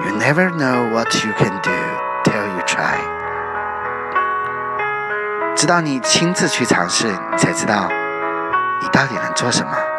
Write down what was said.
You never know what you can do till you try. 直到你亲自去尝试，你才知道你到底能做什么。